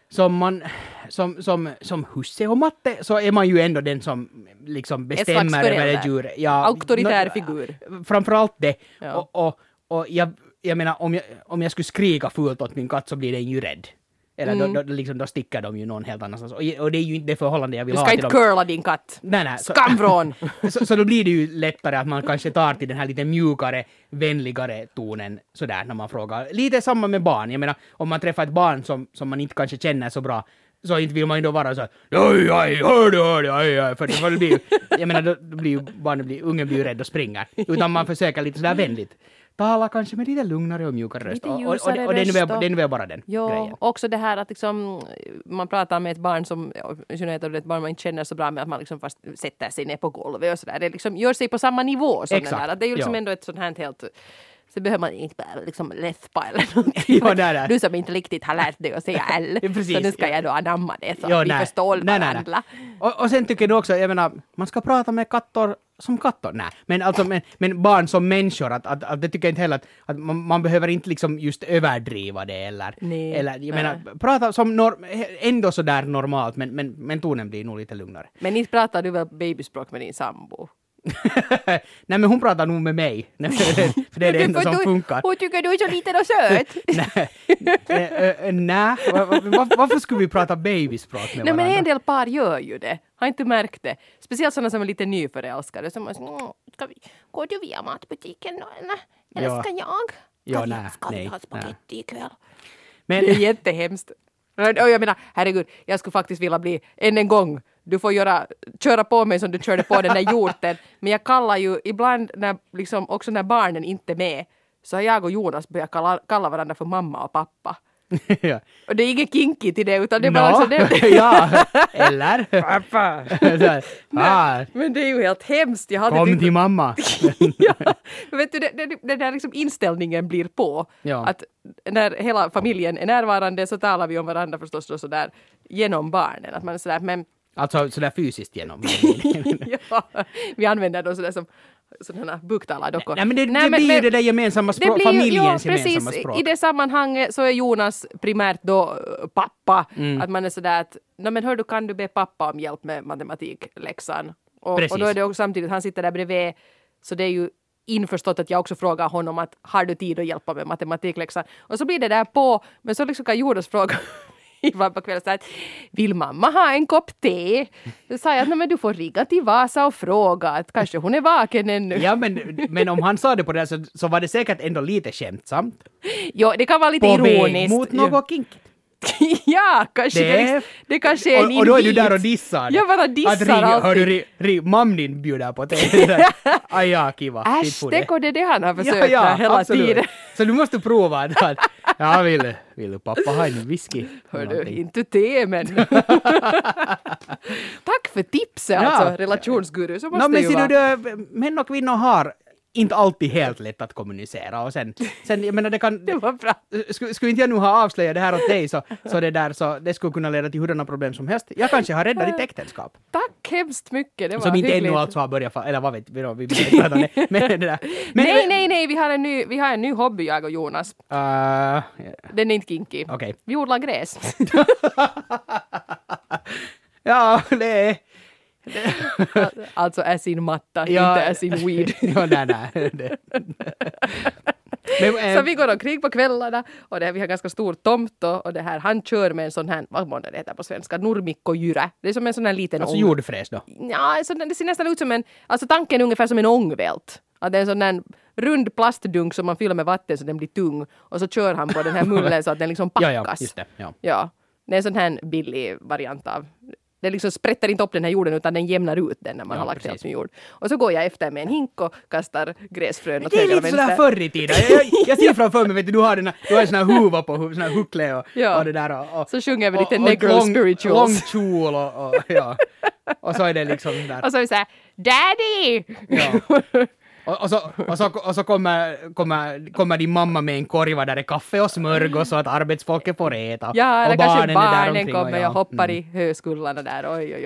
som man som, som, som husse och matte så är man ju ändå den som liksom bestämmer över det djuret. Ja, auktoritär no, figur. Framförallt det. Ja. Och, och, och jag, jag menar, om jag, om jag skulle skrika fult åt min katt så blir den ju rädd. Eller mm. då, då, liksom, då stickar de ju någon helt annanstans. Och, och det är ju inte det förhållande jag vill ha till dem. Du ska inte curla din katt. Nej, nej. Så, Skamvrån! så, så då blir det ju lättare att man kanske tar till den här lite mjukare, vänligare tonen sådär när man frågar. Lite samma med barn. Jag menar, om man träffar ett barn som, som man inte kanske känner så bra så inte vill man ju då vara så här, oj, oj, hör du, hör du, oj, oj, för det, för det blir ju, jag menar, då, då blir ju barnen, blir, ungen blir ju rädd och springer. Utan man försöker lite sådär vänligt. Tala kanske med lite lugnare och mjukare röst. Och, och, och, och, och det är nu bara den jo, grejen. Också det här att liksom, man pratar med ett barn som, ett barn man inte känner så bra med att man liksom fast sätter sig ner på golvet och sådär. Det liksom gör sig på samma nivå som Exakt. den där. Att det är ju liksom jo. ändå ett sånt här helt... Så behöver man inte bara liksom läspa eller någonting. Jo, där, där. Du som inte riktigt har lärt dig att säga L. Precis, så nu ska jag då anamma det så jo, att vi nej. förstår nej, varandra. Nej, nej. Och, och sen tycker du också, jag menar, man ska prata med kattor som kattor. Nej, men alltså men, men barn som människor, att, att, att det tycker jag inte heller att, att man, man behöver inte liksom just överdriva det eller, nej, eller jag nej. menar, prata som norm, ändå så där normalt, men, men, men tonen blir nog lite lugnare. Men inte pratar du väl babyspråk med din sambo? Nej, men hon pratar nog med mig. För det är det enda som du, funkar. Hon tycker du är så liten och söt. Nej, nej. Varför skulle vi prata babyspråk med Nej, varandra? men en del par gör ju det. Har inte märkt det. Speciellt sådana som är lite nyförälskade. Som är så, ska vi, går du via matbutiken då, eller? Eller ja. ska jag? Ja, ska nej, vi, ska nej, vi ha spagetti nej. ikväll? Men, det är jättehemskt. Och jag menar, herregud, jag skulle faktiskt vilja bli än en gång. Du får göra, köra på mig som du körde på den där hjorten. Men jag kallar ju ibland, när, liksom, också när barnen inte är med, så har jag och Jonas börjat kalla, kalla varandra för mamma och pappa. ja. Och det är inget kinky till det, utan det är no. bara så det. Ja, eller? Pappa. ah. Men det är ju helt hemskt. Jag hade Kom tyckt... till mamma. ja, men vet du, det, det, den där liksom inställningen blir på. Ja. Att när hela familjen är närvarande så talar vi om varandra förstås då sådär genom barnen. Att man är sådär, men... Alltså sådär fysiskt genom. ja, vi använder då sådär som sådana buktalardockor. Nej, men det, Nej, det men, blir ju det där gemensamma språk, blir, familjens jo, gemensamma precis, språk. I det sammanhanget så är Jonas primärt då pappa. Mm. Att man är sådär att, no, men hör du, kan du be pappa om hjälp med matematikläxan? Och, och då är det också samtidigt, han sitter där bredvid, så det är ju införstått att jag också frågar honom att har du tid att hjälpa med matematikläxan? Och så blir det där på, men så liksom kan Jonas fråga ibland på kvällen så att vill mamma ha en kopp te? Då sa jag att men du får ringa till Vasa och fråga att kanske hon är vaken ännu. Ja, men, men om han sa det på det så, så var det säkert ändå lite skämtsamt. Jo, det kan vara lite på ironiskt. På mot något kinkigt. ja, kanske det, det, det kanske är en och, och då är du där och dissar. Jag bara dissar att ring, alltid. Hör du, ri, ri, mam din bjuder på det. Aj, ja, kiva. Äsch, det är det han har försökt ja, ja, hela absolut. tiden. Så du måste prova att ja, vill, vill pappa ha en whisky? Hör du, inte te, men... Tack för tipset, ja. Alltså, relationsguru. Så måste no, men ju ser vara. du, män och kvinnor har inte alltid helt lätt att kommunicera och sen, sen jag menar det kan... det var bra. Skulle, skulle inte jag nu ha avslöjat det här åt dig så, så det där så det skulle kunna leda till hurdana problem som helst. Jag kanske har räddat ditt äktenskap. Tack hemskt mycket, det var som inte hyggligt. Ännu alltså har börjat, eller vad vet vi då, vi vill inte prata om det. Men det där. Men, nej, nej, nej, vi har en ny, vi har en ny hobby, jag och Jonas. Uh, yeah. Den är inte kinky. Okay. Vi odlar gräs. ja, det är... alltså as in matta, ja, inte as in weed. ja, nej, nej. Det. Men, så vi går omkring på kvällarna och det här, vi har ganska stor tomt och, och det här, han kör med en sån här, vad månde det heter på svenska, nurmikkogyra. Det är som en sån här liten alltså ång. jordfräs då? Ja, så det ser nästan ut som en, alltså tanken är ungefär som en ångvält. Att det är en sån där rund plastdunk som man fyller med vatten så den blir tung och så kör han på den här mullen så att den liksom packas. ja, ja, just det. Ja. ja, det är en sån här billig variant av. Det liksom sprättar inte upp den här jorden utan den jämnar ut den när man ja, har lagt helt med jord. Och så går jag efter med en hink och kastar gräsfrön åt höger och vänster. Det är lite sådär förr i tiden. Jag, jag, jag ser framför mig, vet du, du har, den, du har en sån här huva på, sån här huckle och, ja. och det där. Och, och, så sjunger vi lite och, negro och lång, spirituals. Lång kjol och, och, ja. och så är det liksom där. Och så är vi såhär, Daddy! Ja. Och, och, så, och, så, och så kommer, kommer, kommer din mamma med en korva där det är kaffe och smörgås så att arbetsfolket får äta. Ja, eller och kanske barnen, barnen där kommer och ja. jag hoppar mm. i höskullarna där, oj oj oj.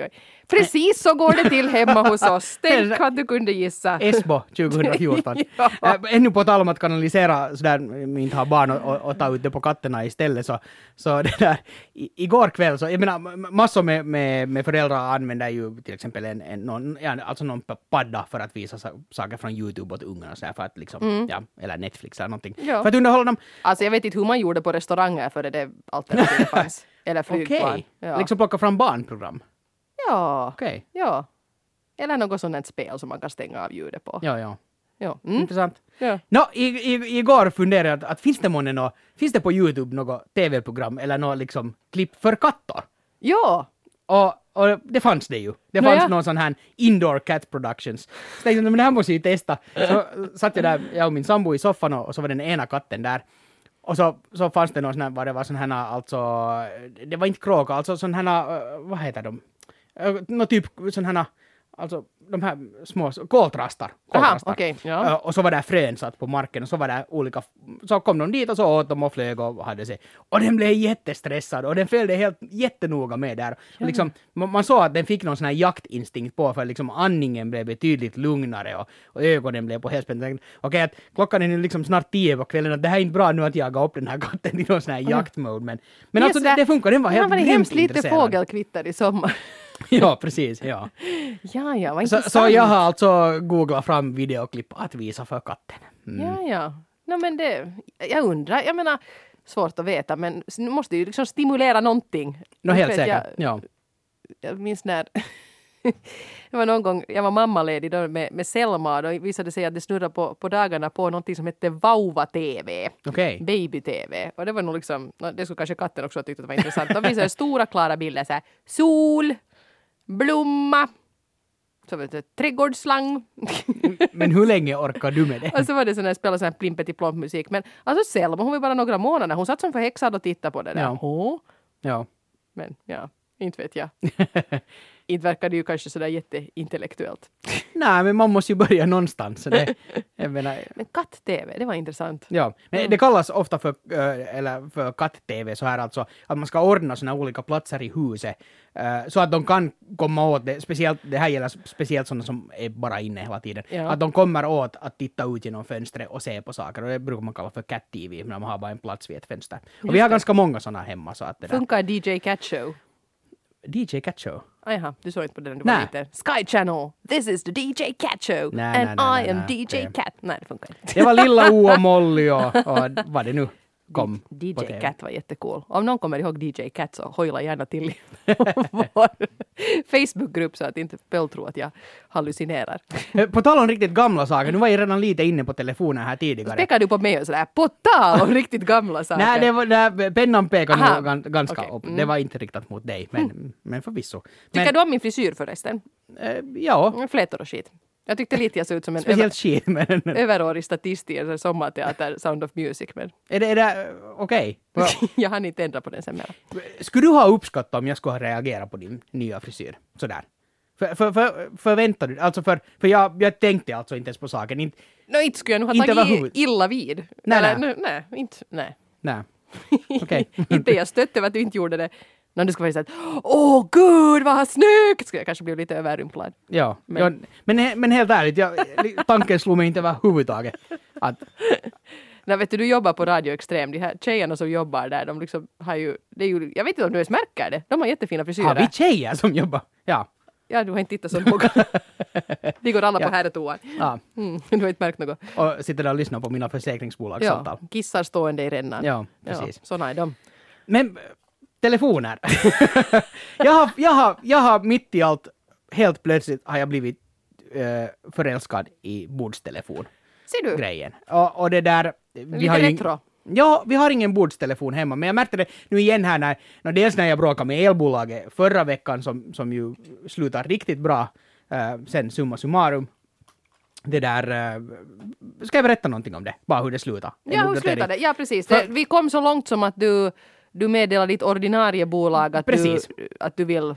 Precis så går det till hemma hos oss. Tänk att du kunde gissa. Esbo tjugohundrafjorton. ja. äh, ännu på tal om att kanalisera sådär, inte ha barn och, och, och ta ut det på katterna istället. Så, så det där, i, igår kväll, så, jag menar, massor med, med, med föräldrar använder ju till exempel en, en, någon, ja, alltså någon padda för att visa saker från YouTube åt ungarna. Så här, för att liksom, mm. ja, eller Netflix eller någonting. Ja. För att underhålla dem. Alltså jag vet inte hur man gjorde på restauranger för det alternativet fanns. Eller flygplan. Okej, okay. ja. Liksom plocka fram barnprogram. Ja. Okej. Okay. Ja. Eller något sånt spel som man kan stänga av ljudet på. Ja, ja. Ja. Mm. Intressant. Ja. No, i, i, igår funderade jag att, att finns det månne nå, finns det på YouTube något tv-program eller något liksom klipp för katter? Ja. Och, och det fanns det ju. Det no, fanns ja. någon sån här indoor cat productions. Så tänkte jag, men det här måste jag ju testa. Så satt jag där, jag och min sambo i soffan och, och så var den ena katten där. Och så, så fanns det någon sån här, vad det var sån här, alltså, det var inte kråka, alltså sån här, vad heter de? Nå typ sån här, alltså de här små koltrastar. Aha, okej. Okay, ja. Och så var där frön satt på marken och så var det olika, så kom de dit och så åt de och flög och hade sig. Och den blev jättestressad och den följde helt jättenoga med där. Ja. Liksom, man, man såg att den fick någon sån här jaktinstinkt på för liksom andningen blev betydligt lugnare och, och ögonen blev på helspänn. Okej, okay, att klockan är nu liksom snart tio på kvällen och det här är inte bra nu att jaga upp den här katten i någon sån här mm. jaktmode. Men, men alltså det, det funkar, den var helt grymt intresserad. Det var hemskt lite fågelkvitter i sommar. Ja, precis, ja. Ja, ja, vad så, så jag har alltså googlat fram videoklipp att visa för katten. Mm. Ja, ja. No, men det, jag undrar, jag menar, svårt att veta, men nu måste ju liksom stimulera någonting. No, helt säkert, jag, ja. Jag minns när, det var någon gång, jag var mammaledig då med, med Selma och då visade sig att det snurrade på, på dagarna på någonting som hette Vauva-T V. Okay. Baby-T V. Och det var nog liksom, det skulle kanske katten också ha tyckt att det var intressant. De visade stora klara bilder så här, sol, blomma, så vet du, trädgårdsslang. Men hur länge orkar du med det? Och så var det sån här spela sån här plimpet i plomp musik. Men alltså Selma, hon var bara några månader. Hon satt som förhäxad och tittade på det där. Ja. Oh. Ja. Men ja, inte vet jag. Inte verkar det ju kanske sådär jätteintellektuellt. Nej, men man måste ju börja någonstans. Så det, jag menar, men katt-T V, det var intressant. Ja, men mm. det kallas ofta för, äh, eller för katt-T V så här alltså, att man ska ordna såna olika platser i huset äh, så att de kan komma åt det. Speciellt, det här gäller speciellt sådana som är bara inne hela tiden. Ja. Att de kommer åt att titta ut genom fönstret och se på saker. Och det brukar man kalla för cat-T V, när man har bara en plats vid ett fönster. Och Just vi har det. ganska många sådana hemma. Så att det funkar där. D J Cat Show? D J Cat Show? Aha, du såg inte på den du var lite. Sky Channel, this is the D J Cat Show. Nej, and nej, nej, I am nej, D J det. Cat. Nej, det funkar inte. Det var Lilla O och Molly och, och vad det nu kom. D J Cat var jättecool. Om någon kommer ihåg D J Cat så hojla gärna till i vår Facebookgrupp så att inte Pöl tror att jag hallucinerar. På tal om riktigt gamla saker, nu var jag redan lite inne på telefonen här tidigare. Pekar du på mig och sådär, på tal om riktigt gamla saker? Nej, det var, det, pennan pekade nog ganska okay. upp. Det var inte riktat mot dig, men, mm. men förvisso. Tycker men, du om min frisyr förresten? Äh, ja. Flätor och skit. Jag tyckte lite jag såg ut som en speciellt shit, men överårig statist i en sommarteater Sound of Music. Men är det, är det okej? Okay. Jag hann inte ändra på den sen mer. Skulle du ha uppskattat om jag skulle ha reagerat på din nya frisyr? Sådär. För, för, för, förväntar du? Alltså för, för jag, jag tänkte alltså inte ens på saken. Inte, no, inte skulle jag nog ha tagit illa vid. Nej, Eller, nej. nej, inte, nej. Nej. Okej. Okay. Inte jag stötte över att du inte gjorde det. När du ska vara så att åh gud vad snyggt! Ska jag kanske bli lite överrumplad. Ja, men, ja, men, men helt ärligt, jag, tanken slog mig inte överhuvudtaget. Att... Nej, vet du, du jobbar på Radio Extrem. De här tjejerna som jobbar där, de liksom har ju, det är ju, jag vet inte om du ens märker det. De har jättefina frisyrer. Har vi tjejer som jobbar? Ja. Ja, du har inte tittat så noga. De går alla ja. på herrtoan. Ja. Mm, du har inte märkt något. Och sitter där och lyssnar på mina försäkringsbolagssamtal. Ja, kissar stående i rännan. Ja, precis. Ja, såna är de. Men telefoner. jag, har, jag, har, jag har mitt i allt, helt plötsligt har jag blivit uh, förälskad i bordstelefon. Ser du? Grejen. Och, och det där... Vi lite har retro. Ju, ja, vi har ingen bordstelefon hemma, men jag märkte det nu igen här när, när dels när jag bråkade med elbolaget förra veckan som, som ju slutar riktigt bra, uh, sen summa summarum. Det där... Uh, ska jag berätta någonting om det? Bara hur det slutar. Ja, hur slutar det? Ja, precis. För, vi kom så långt som att du... Du meddelar ditt ordinarie bolag att du, att du vill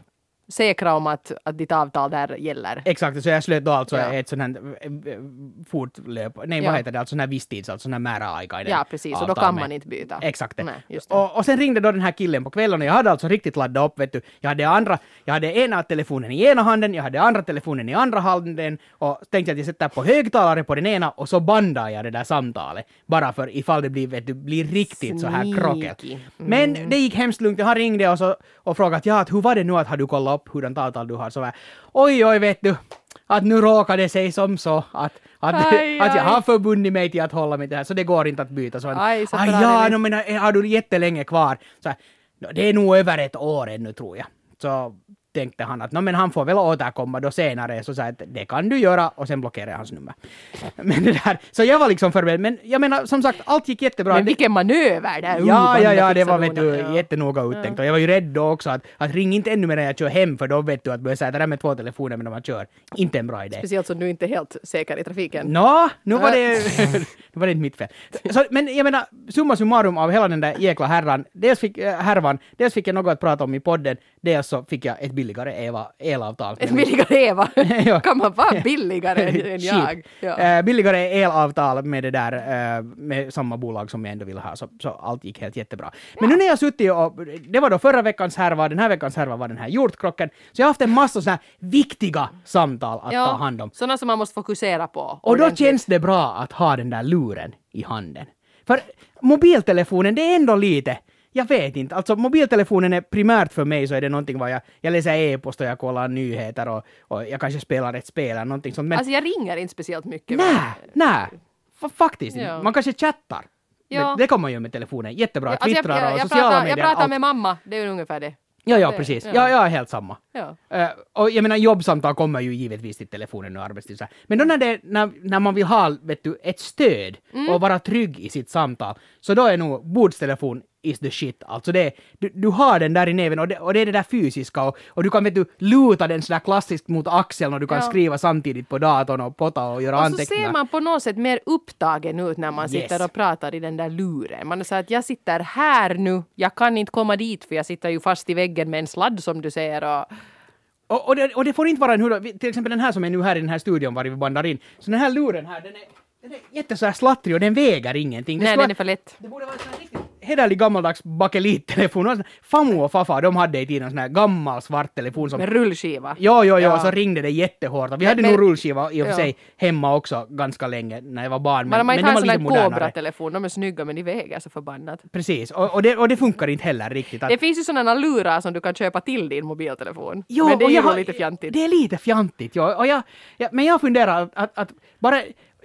säkra om att, att ditt avtal där gäller. Exakt, så jag slöt då alltså Ja. ett sånt här eh, fortlöp, nej Ja. vad heter det, alltså sån här visstids, alltså sån här määräaikainen Ja, precis. Och då avtal kan med- man inte byta. Exakt det. Nej, just det. Och, och sen ringde då den här killen på kvällen och jag hade alltså riktigt laddat upp, vet du. Jag hade andra, jag hade ena telefonen i ena handen, jag hade andra telefonen i andra handen och tänkte att jag sätter på högtalare på den ena och så bandar jag det där samtalet. Bara för ifall det blir, vet du, blir riktigt så här Sneaky. krockel. Mm. Men det gick hemskt lugnt. Han ringde och, så, och frågade att ja, att hur var det nu att har du kollat upp hurdant avtal du har? Så här, oj, oj, vet du. Att nu råkade det sig som så att, att, Aj, att jag aj. har förbundit mig till att hålla mig till det här, så det går inte att byta. Så han, Aj, så aj, bra, ja, det no, men eh, har du jättelänge kvar? Så här, "No, det är nog över ett år ännu tror jag. Så tänkte han att no, men han får väl återkomma då senare. Så sa jag att det kan du göra och sen blockerade jag hans nummer. Men det där, så jag var liksom förberedd. Men jag menar som sagt, allt gick jättebra. Men Det- vilken manöver där! Uh, Ja, ja, ja, det fixar var vet du, donan, ja. jättenoga uttänkt. Och jag var ju rädd då också att, att ring inte ännu mer när jag kör hem, för då vet du att börja säga det där med två telefoner medan man kör. Inte en bra idé. Speciellt som du inte är helt säker i trafiken. Nå, nu var det, nu var det inte mitt fel. Så, men jag menar, summa summarum av hela den där jäkla härvan, dels fick, äh, härvan, dels fick jag något att prata om i podden, dels så fick jag ett billigare Eva, elavtal. Ett billigare Eva. Ja. Kan man vara billigare än, än jag? Shit. Ja. Eh, billigare elavtal med det där, eh, med samma bolag som jag ändå vill ha, så, så allt gick helt jättebra. Men nu när jag suttit och, det var då förra veckans härva, den här veckans härva var den här hjortkrocken, så jag har haft en massa sådana här viktiga samtal att ta hand om. Sådana som man måste fokusera på. Och då ordentligt. känns det bra att ha den där luren i handen. För mobiltelefonen, det är ändå lite, jag vet inte, alltså mobiltelefonen är primärt för mig så är det någonting vad jag, jag läser e-post och jag kollar nyheter och, och jag kanske spelar ett spel eller någonting sånt. Men Alltså jag ringer inte speciellt mycket. nej, men- nej, F- faktiskt Ja. man kanske chattar. Ja. Men det kommer man ju med telefonen, jättebra, Ja, alltså jag, twittrar jag, och jag, sociala pratar, medier. jag pratar allt. med mamma, det är ju ungefär det. Ja, ja, det- precis. ja. Ja, jag är helt samma. Ja. Eh, och jag menar, jobbsamtal kommer ju givetvis till telefonen och arbetstid. så här. Men då när, det, när, när man vill ha vet du, ett stöd Mm. och vara trygg i sitt samtal, så då är nog bordstelefon is the shit. Alltså det, du, du har den där i näven och det, och det är det där fysiska och, och du kan vet du, luta den sådär klassiskt mot axeln och du kan Ja. skriva samtidigt på datorn och potta och göra Och så anteckningar. ser man på något sätt mer upptagen ut när man Yes. sitter och pratar i den där luren. Man säger att jag sitter här nu, jag kan inte komma dit för jag sitter ju fast i väggen med en sladd som du säger. Och... Och, och, det, och det får inte vara en hur, till exempel den här som är nu här i den här studion var vi bandar in. Så den här luren här, den är, den är jätte så här slattrig och den väger ingenting. Det Nej, skulle den vara- är för lätt. Det borde vara en sån här riktigt hederlig gammaldags bakelittelefon. Famu och Fafa, de hade i tiden en sån här gammal svart telefon som... Med rullskiva. Jo, jo, jo, Ja. så ringde det jättehårt. Och vi Men- hade men- nog rullskiva i och för ja. sig hemma också ganska länge när jag var barn. Men man men inte det har var en sån lite här modernare. Cobra-telefon, de är snygga men de väger så förbannat. Precis, och, och, det, och det funkar inte heller riktigt. Att, Det finns ju sådana lurar som du kan köpa till din mobiltelefon. Jo, men det är och ju jag nog har- lite fjantigt. Det är lite fjantigt, ja. Och jag, ja, men jag funderar att, att, att bara...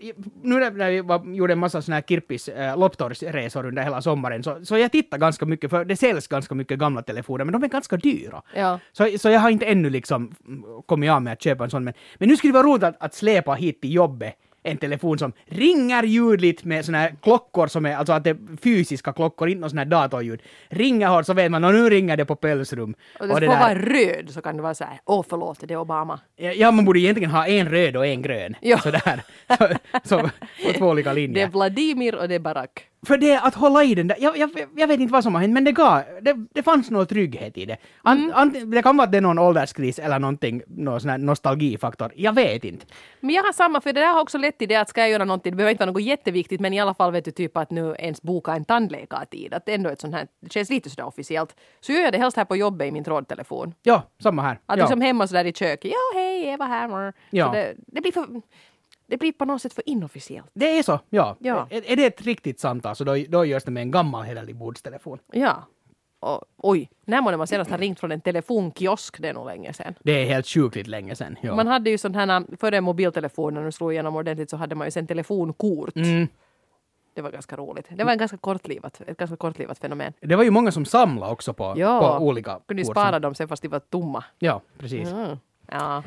Nu när vi var, gjorde en massa såna här Kirppis äh, Loptorsresor under hela sommaren, så, så jag tittar ganska mycket, för det säljs ganska mycket gamla telefoner, men de är ganska dyra. Ja. Så, så jag har inte ännu liksom kommit av med att köpa en sån, men, men nu skulle det vara roligt att, att släpa hit till jobbet en telefon som ringer ljudligt med såna här klockor som är, alltså att det är fysiska klockor, inte någon sån här datorljud. Ringer hårt så vet man, och nu ringer det på pälsrum. Och det Och får det där- vara röd så kan det vara så här, åh förlåt, det är Obama. Ja, man borde egentligen ha en röd och en grön. Ja. Sådär. Så, så, på två olika Det är linjer. Vladimir och det är Barack. För det att hålla i den där, jag, jag, jag vet inte vad som har hänt, men det gav, det, det fanns någon trygghet i det. An, Mm. an, det kan vara att det är någon ålderskris eller någonting, någon sån här nostalgifaktor. Jag vet inte. Men jag har samma, för det där har också lett till det att ska jag göra någonting, det behöver inte vara något jätteviktigt, men i alla fall vet du typ att nu ens boka en tandläkartid, att ändå ett sånt här, det känns lite sådär officiellt. Så gör jag det helst här på jobbet i min trådtelefon. Ja, samma här. Att ja. liksom hemma sådär i köket, ja hej, Eva här. Ja. Så det, det blir för, det blir på något sätt för inofficiellt. Det är så, ja. Ja. Är, är det ett riktigt samtal så då, då görs det med en gammal hederlig bordstelefon. Ja. Och, oj, när man senast har ringt från en telefonkiosk, det är nog länge sedan. Det är helt sjukligt länge sedan. Ja. Man hade ju sån här, före mobiltelefonen och slog igenom ordentligt så hade man ju sen telefonkort. Mm. Det var ganska roligt. Det var en ganska kortlivat, ett ganska kortlivat fenomen. Det var ju många som samlade också på, Ja, på olika kunde ju kort spara som- dem sen fast de var tomma. Ja, precis. Mm. Ja.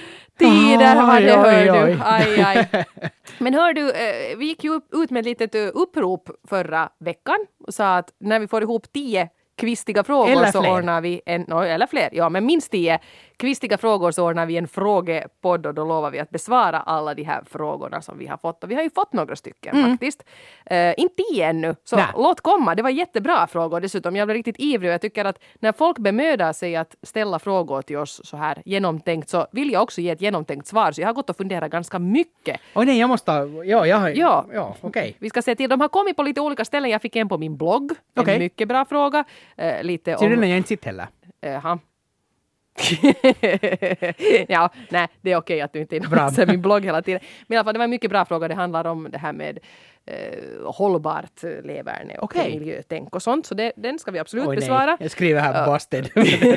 Tider var det, Oj, oj, hör oj. du. Aj, aj. Men hör du, eh, vi gick ju upp- ut med ett litet eh, upprop förra veckan och sa att när vi får ihop tio kvistiga frågor Eller så fler. ordnar vi en, no, eller fler, ja men minst tio kvistiga frågor så ordnar vi en frågepodd och då lovar vi att besvara alla de här frågorna som vi har fått. Och vi har ju fått några stycken mm. faktiskt. Uh, inte tio ännu, så Nä. låt komma. Det var jättebra frågor dessutom. Jag blev riktigt ivrig och jag tycker att när folk bemödar sig att ställa frågor till oss så här genomtänkt så vill jag också ge ett genomtänkt svar. Så jag har gått och funderat ganska mycket. Oj nej, jag måste... Ja, jag har... Ja, ja okej. Okay. Vi ska se till. De har kommit på lite olika ställen. Jag fick en på min blogg. Okay. En mycket bra fråga. Uh, lite så om... den har jag inte sett heller. Jaha. ja, nej, det är okej att du inte inser min blogg hela tiden. Men i alla fall, det var en mycket bra fråga. Det handlar om det här med eh, hållbart leverne och okay. miljötänk och sånt. Så det, den ska vi absolut Oj, besvara. Nej. Jag skriver här busted.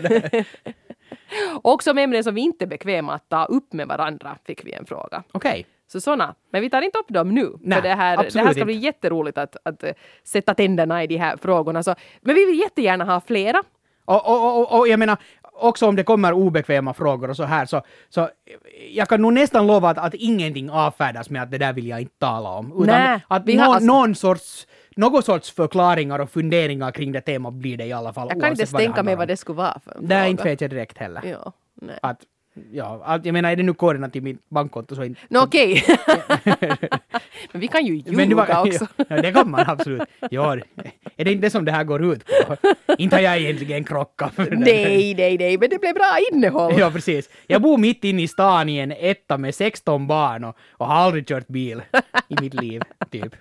Och som ämnen som vi inte är bekväma att ta upp med varandra fick vi en fråga. Okej. Okay. Så såna. Men vi tar inte upp dem nu. Nej, för det här, det här ska bli jätteroligt att, att sätta tänderna i de här frågorna. Så, men vi vill jättegärna ha flera. Och, och, och, och jag menar, också om det kommer obekväma frågor och så här, så, så jag kan nog nästan lova att, att ingenting avfärdas med att det där vill jag inte tala om. Utan Nä, att någon, alltså... någon sorts, någon sorts förklaringar och funderingar kring det temat blir det i alla fall. Jag kan inte ens tänka mig vad det skulle vara för en Det är inte vet jag direkt heller. Ja, nej. Att, ja, att, jag menar, är det nu koderna till mitt bankkonto så inte... No, okej. Okay. Men vi kan ju ljuga var, också. Ja, det kan man absolut. Ja, är det inte det som det här går ut på? Inte har jag egentligen krockat. Nej, nej, nej, men det blev bra innehåll. Ja, precis. Jag bor mitt inne i stan i en etta med sexton barn och, och har aldrig kört bil i mitt liv, typ.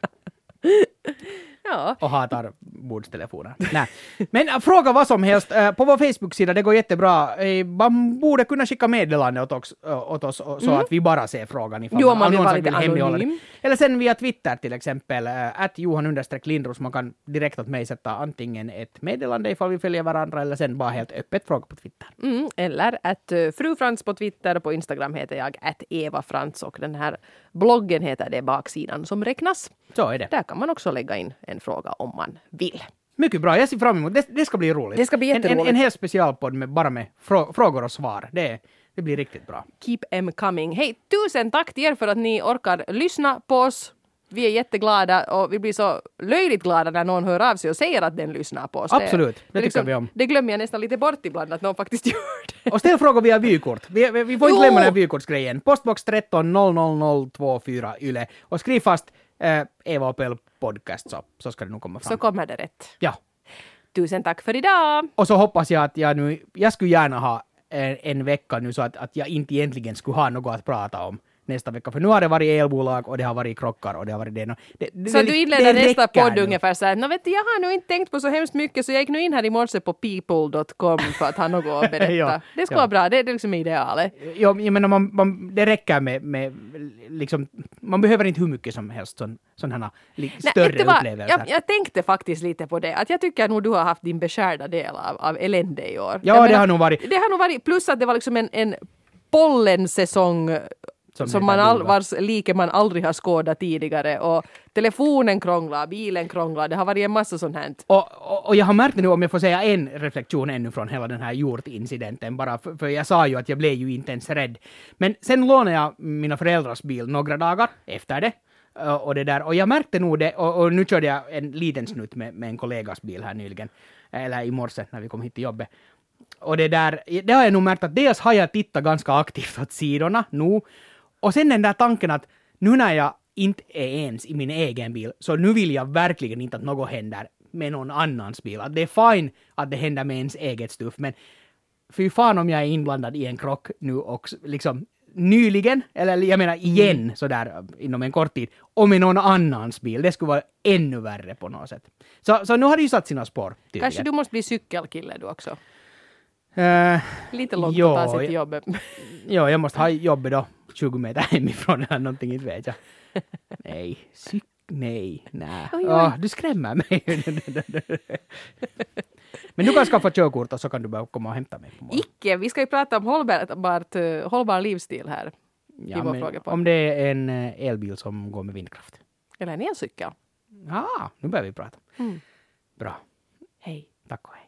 Ja. Och hatar bordstelefoner. Nej. Men äh, fråga vad som helst. Äh, på vår Facebook-sida, det går jättebra. Äh, man borde kunna skicka meddelande åt oss, äh, åt oss så mm. att vi bara ser frågan ifall jo, man, man vill vara lite anonym. Eller sen via Twitter till exempel. Äh, att Johan understreck Lindros. Man kan direkt åt mig sätta antingen ett meddelande ifall vi följer varandra eller sen bara helt öppet fråga på Twitter. Mm, eller att uh, Fru Frans på Twitter. På Instagram heter jag att Eva Frans och den här bloggen heter det Baksidan som räknas. Så är det. Där kan man också lägga in en fråga om man vill. Mycket bra, jag ser fram emot det. Det ska bli roligt. Det ska bli jätteroligt. En, en, en hel specialpodd med bara med frå- frågor och svar. Det, det blir riktigt bra. Keep em coming. Hej, tusen tack till er för att ni orkar lyssna på oss. Vi är jätteglada och vi blir så löjligt glada när någon hör av sig och säger att den lyssnar på oss. Absolut, det, det, det liksom, tycker vi om. Det glömmer jag nästan lite bort ibland att någon faktiskt gör det. Och ställ frågor via vykort. Vi, vi, vi får inte glömma den här vykortsgrejen. Postbox tretton noll noll noll två fyra Yle. Och skriv fast eh, Eva Opel podcast så, så ska det nog komma fram. Så kommer det rätt. Ja. Tusen tack för idag. Och så hoppas jag att jag nu, jag skulle gärna ha en, en vecka nu så att, att jag inte egentligen skulle ha något att prata om nästa vecka. För nu har det varit elbolag och det har varit krockar och det har varit det. det, det så det, du inleder nästa podd nu. Ungefär så här, no, vet du, jag har nu inte tänkt på så hemskt mycket så jag gick nu in här i morse på people dot com för att ha något att berätta. ja, det skulle ja. vara bra, det är liksom idealet. Ja, jag menar, man, man, det räcker med, med liksom, man behöver inte hur mycket som helst sån, sådana li, större Nej, upplevelser. Jag, jag tänkte faktiskt lite på det, att jag tycker nog du har haft din beskärda del av, av elände i år. Ja, jag det menar, har nog varit. Det har nog varit, plus att det var liksom en, en pollensäsong som, som man all, vars like man aldrig har skådat tidigare och telefonen krånglar, bilen krånglar, det har varit en massa sånt här. Och, och, och jag har märkt nu, om jag får säga en reflektion ännu från hela den här hjortincidenten, bara för, för jag sa ju att jag blev ju inte ens rädd. Men sen lånade jag mina föräldrars bil några dagar efter det. Och, det där, och jag märkte nog det, och, och nu körde jag en liten snutt med, med en kollegas bil här nyligen, eller i morse när vi kom hit till jobbet. Och det där, det har jag nog märkt att dels har jag tittat ganska aktivt åt sidorna nu. Och sen den där tanken att nu när jag inte är ens i min egen bil så nu vill jag verkligen inte att något händer med någon annans bil. Att det är fine att det händer med ens eget stuff, men fy fan om jag är inblandad i en krock nu och liksom nyligen, eller jag menar igen mm. sådär inom en kort tid, och med någon annans bil. Det skulle vara ännu värre på något sätt. Så, så nu har det ju satt sina spår. Tydligen. Kanske du måste bli cykelkille du också. Uh, Lite långt jo, att ta sig till jobbet. Ja, jag måste ha jobbet då tjugo meter hemifrån eller någonting, inte vet jag. Nej, cyk, nej, nej. Oj, oj. Oh, du skrämmer mig. Men du kan skaffa körkort och så kan du bara komma och hämta mig på morgon. Icke, vi ska ju prata om hållbart, hållbar livsstil här. Ja, men om det är en elbil som går med vindkraft. Eller en elcykel. Ja, ah, nu börjar vi prata. Mm. Bra. Hej. Tack och hej.